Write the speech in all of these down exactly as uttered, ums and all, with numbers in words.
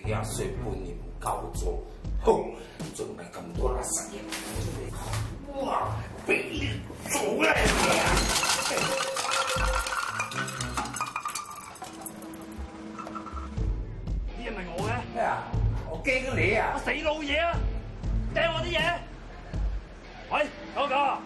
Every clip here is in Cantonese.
幾廿歲半年唔夠做，哼，仲係咁多垃圾嘢，哇！俾你做啦！ 呢係咪我嘅？ 咩啊？我驚你啊！ 我死老嘢啊！掟我啲嘢！喂，嗰個。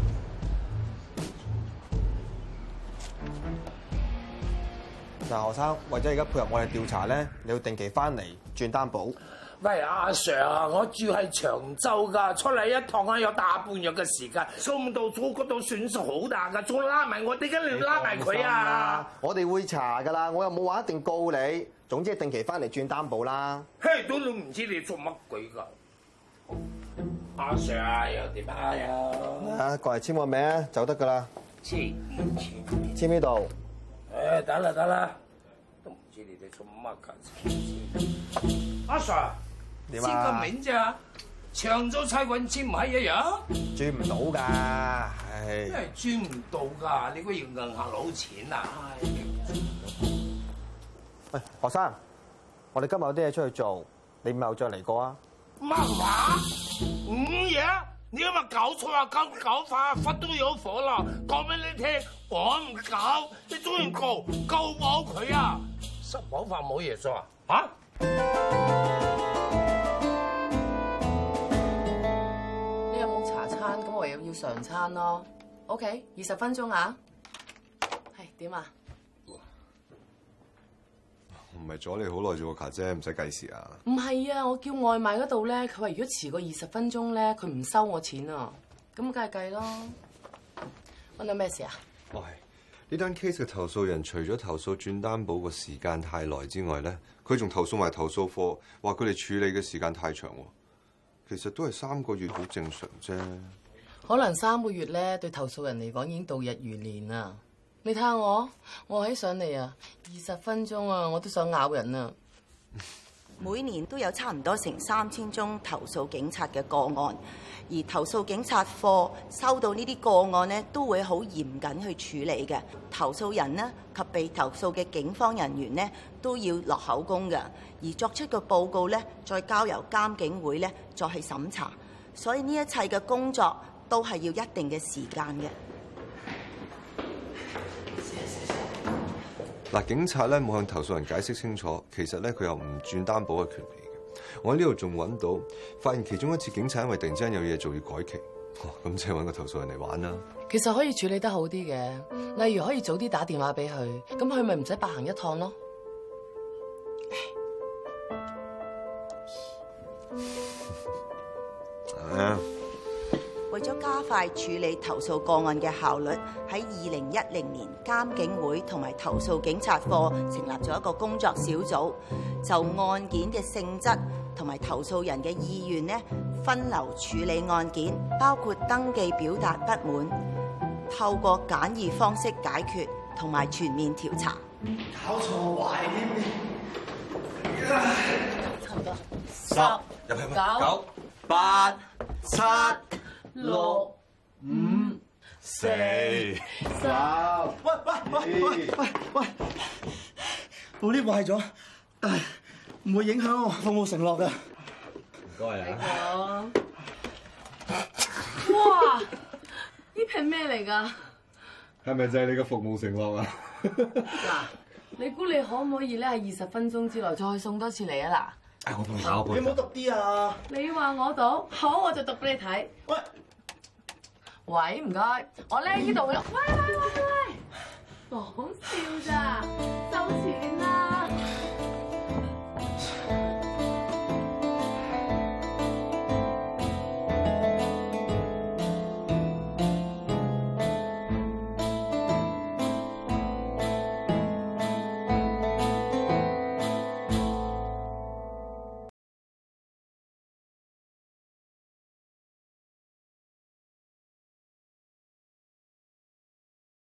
嗱，何生，為咗而家配合我哋調查咧，你要定期翻嚟轉擔保。 喂，阿 Sir 啊，我住喺長洲㗎，出嚟一趟啊有大半日嘅時間，送到咗嗰度損失好大㗎，仲拉埋我，點解你要拉埋佢啊？ 我哋會查㗎啦，我又冇話一定告你。總之係定期翻嚟轉擔保啦。 嘿，都都唔知你做乜鬼㗎？阿 Sir 啊，又點啊？ 啊，過嚟簽個名就得㗎啦。 簽簽簽呢度。 誒，得啦得啦，都唔知你哋做乜㗎？阿 Sir， 點簽個啊？ 名咋？長洲差館簽唔係一樣？ 轉唔到㗎，唉。 真係轉唔到㗎，你估要銀行攞錢啊？ 喂，學生，我哋今日有啲嘢出去做，你咪又再嚟過啊？ 乜話？五嘢？你有冇搞錯啊？搞搞法忽都有火啦！講俾你聽，我唔搞，你中意告告我佢啊！失火法冇嘢做啊？嚇？ 你有冇茶餐？咁我又要常餐咯。OK， 二十分鐘啊。係點啊？ 唔係阻你好耐做個卡啫，唔使計時啊！ 唔係啊，我叫外賣嗰度咧，佢話如果遲過二十分鐘咧，佢唔收我錢啊。咁梗係計咯。揾到咩事啊？ 喂，呢單 case 嘅投訴人除咗投訴轉擔保個時間太耐之外咧，佢仲投訴埋投訴課，話佢哋處理嘅時間太長喎。其實都係三個月好正常啫。 可能三個月咧，對投訴人嚟講已經度日如年啦。你睇下我，我喺上嚟啊，二十分鐘啊，我都想咬人啊！ 每年都有差唔多成三千宗投訴警察嘅個案，而投訴警察課收到呢啲個案呢，都會好嚴謹去處理嘅。投訴人呢及被投訴嘅警方人員呢，都要落口供嘅，而作出個報告呢，再交由監警會呢再去審查。所以呢一切嘅工作都係要一定嘅時間嘅。 嗱，警察咧冇向投訴人解釋清楚，其實咧佢有唔轉擔保嘅權利嘅。我喺呢度仲揾到，發現其中一次警察因為突然之間有嘢做要改期，咁即係揾個投訴人嚟玩啦。 其實可以處理得好啲嘅，例如可以早啲打電話俾佢，咁佢咪唔使白行一趟咯。 啊！ 為咗加快處理投訴個案嘅效率，喺二零一零年監警會同埋投訴警察課成立咗一個工作小組，就案件嘅性質同埋投訴人嘅意願呢，分流處理案件，包括登記表達不滿，透過簡易方式解決同埋全面調查。 搞錯壞添， 差唔多。 十入去九九八七六五四十。喂喂喂喂喂喂，部 lift 壞咗，但係唔會影響我服務承諾㗎。唔該啊。 哇！呢瓶咩嚟㗎？ 係咪就係你嘅服務承諾啊？ 嗱，你估你可唔可以咧喺二十分鐘之內再送多次嚟啊？嗱， 我幫你搞，你唔好讀啲啊！ 你話我讀，好我就讀俾你睇。 喂喂，唔該，我咧呢度有。喂喂喂喂！